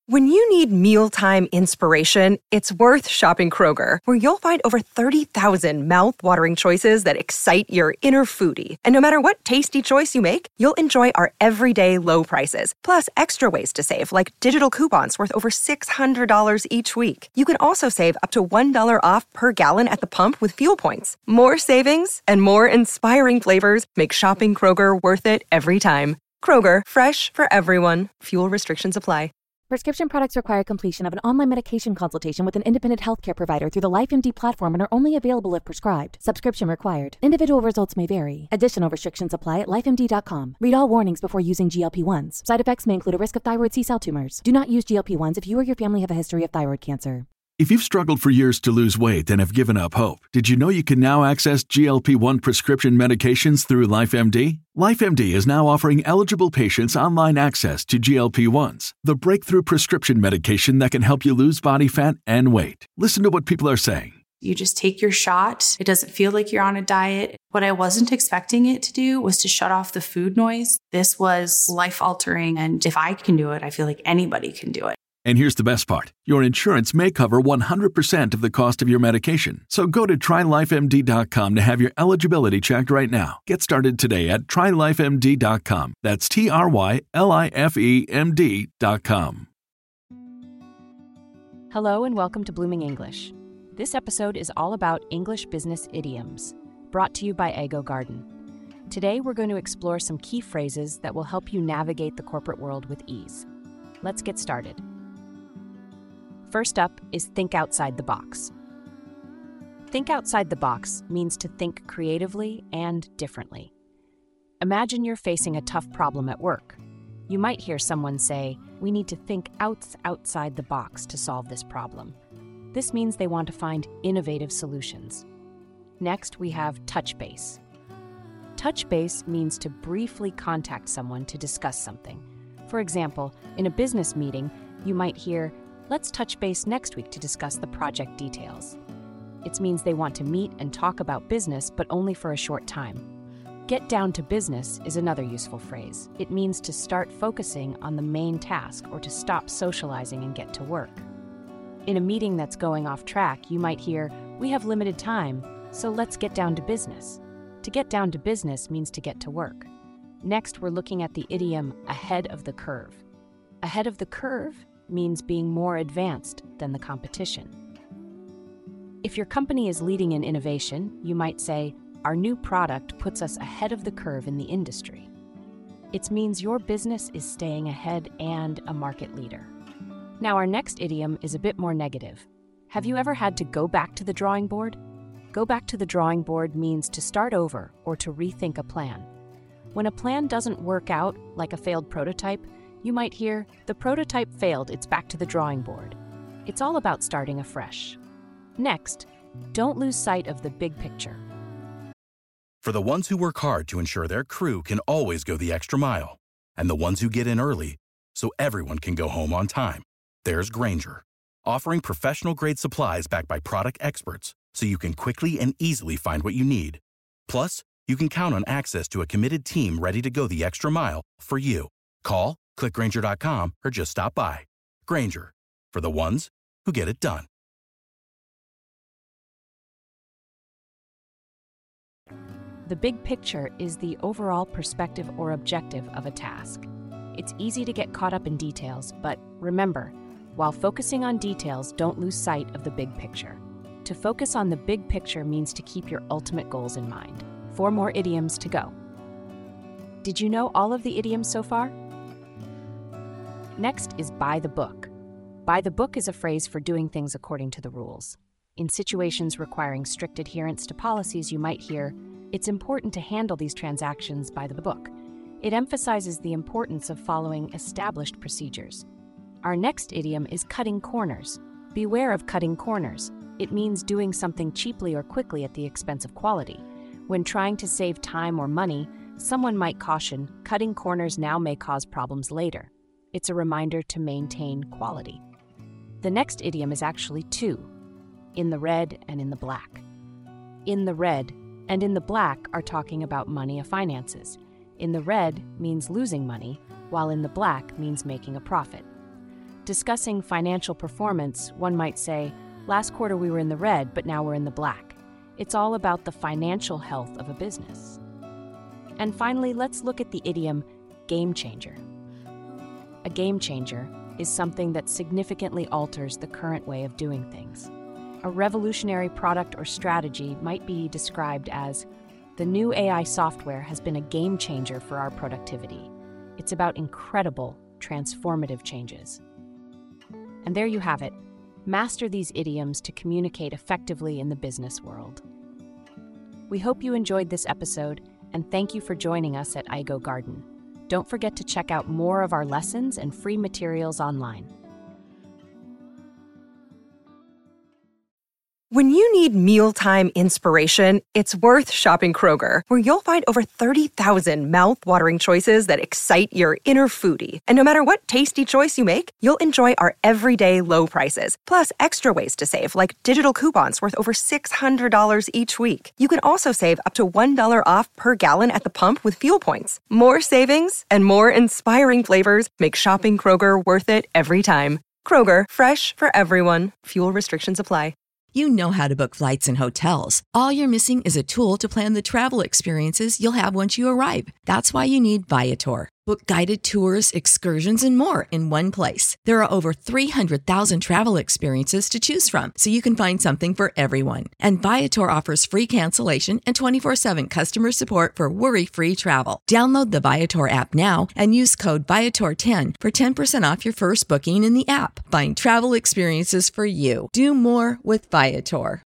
When you need mealtime inspiration, it's worth shopping Kroger, where you'll find over 30,000 mouth-watering choices that excite your inner foodie. And no matter what tasty choice you make, you'll enjoy our everyday low prices, plus extra ways to save, like digital coupons worth over $600 each week. You can also save up to $1 off per gallon at the pump with fuel points. More savings and more inspiring flavors make shopping Kroger worth it every time. Kroger, fresh for everyone. Fuel restrictions apply. Prescription products require completion of an online medication consultation with an independent healthcare provider through the LifeMD platform and are only available if prescribed. Subscription required. Individual results may vary. Additional restrictions apply at lifemd.com. Read all warnings before using GLP-1s. Side effects may include a risk of thyroid C-cell tumors. Do not use GLP-1s if you or your family have a history of thyroid cancer. If you've struggled for years to lose weight and have given up hope, did you know you can now access GLP-1 prescription medications through LifeMD? LifeMD is now offering eligible patients online access to GLP-1s, the breakthrough prescription medication that can help you lose body fat and weight. Listen to what people are saying. You just take your shot. It doesn't feel like you're on a diet. What I wasn't expecting it to do was to shut off the food noise. This was life-altering, and if I can do it, I feel like anybody can do it. And here's the best part. Your insurance may cover 100% of the cost of your medication. So go to TryLifeMD.com to have your eligibility checked right now. Get started today at TryLifeMD.com. That's TryLifeMD.com. Hello and welcome to Blooming English. This episode is all about English business idioms, brought to you by Ego Garden. Today we're going to explore some key phrases that will help you navigate the corporate world with ease. Let's get started. First up is think outside the box. Think outside the box means to think creatively and differently. Imagine you're facing a tough problem at work. You might hear someone say, "We need to think outside the box to solve this problem." This means they want to find innovative solutions. Next, we have touch base. Touch base means to briefly contact someone to discuss something. For example, in a business meeting, you might hear, "Let's touch base next week to discuss the project details." It means they want to meet and talk about business, but only for a short time. Get down to business is another useful phrase. It means to start focusing on the main task or to stop socializing and get to work. In a meeting that's going off track, you might hear, "We have limited time, so let's get down to business." To get down to business means to get to work. Next, we're looking at the idiom ahead of the curve. Ahead of the curve means being more advanced than the competition. If your company is leading in innovation, you might say, "Our new product puts us ahead of the curve in the industry." It means your business is staying ahead and a market leader. Now, our next idiom is a bit more negative. Have you ever had to go back to the drawing board? Go back to the drawing board means to start over or to rethink a plan. When a plan doesn't work out, like a failed prototype, you might hear, "The prototype failed, it's back to the drawing board." It's all about starting afresh. Next, don't lose sight of the big picture. For the ones who work hard to ensure their crew can always go the extra mile, and the ones who get in early so everyone can go home on time, there's Grainger, offering professional-grade supplies backed by product experts so you can quickly and easily find what you need. Plus, you can count on access to a committed team ready to go the extra mile for you. Call, click Grainger.com, or just stop by. Grainger, for the ones who get it done. The big picture is the overall perspective or objective of a task. It's easy to get caught up in details, but remember, while focusing on details, don't lose sight of the big picture. To focus on the big picture means to keep your ultimate goals in mind. 4 more idioms to go. Did you know all of the idioms so far? Next is by the book. By the book is a phrase for doing things according to the rules. In situations requiring strict adherence to policies, you might hear, "It's important to handle these transactions by the book." It emphasizes the importance of following established procedures. Our next idiom is cutting corners. Beware of cutting corners. It means doing something cheaply or quickly at the expense of quality. When trying to save time or money, someone might caution, "Cutting corners now may cause problems later." It's a reminder to maintain quality. The next idiom is actually 2, in the red and in the black. In the red and in the black are talking about money and finances. In the red means losing money, while in the black means making a profit. Discussing financial performance, one might say, last quarter we were in the red, but now we're in the black. It's all about the financial health of a business. And finally, let's look at the idiom game changer. A game changer is something that significantly alters the current way of doing things. A revolutionary product or strategy might be described as, the new AI software has been a game changer for our productivity. It's about incredible, transformative changes. And there you have it. Master these idioms to communicate effectively in the business world. We hope you enjoyed this episode, and thank you for joining us at iGo Garden. Don't forget to check out more of our lessons and free materials online. When you need mealtime inspiration, it's worth shopping Kroger, where you'll find over 30,000 mouth-watering choices that excite your inner foodie. And no matter what tasty choice you make, you'll enjoy our everyday low prices, plus extra ways to save, like digital coupons worth over $600 each week. You can also save up to $1 off per gallon at the pump with fuel points. More savings and more inspiring flavors make shopping Kroger worth it every time. Kroger, fresh for everyone. Fuel restrictions apply. You know how to book flights and hotels. All you're missing is a tool to plan the travel experiences you'll have once you arrive. That's why you need Viator. Book guided tours, excursions, and more in one place. There are over 300,000 travel experiences to choose from, so you can find something for everyone. And Viator offers free cancellation and 24/7 customer support for worry-free travel. Download the Viator app now and use code Viator10 for 10% off your first booking in the app. Find travel experiences for you. Do more with Viator.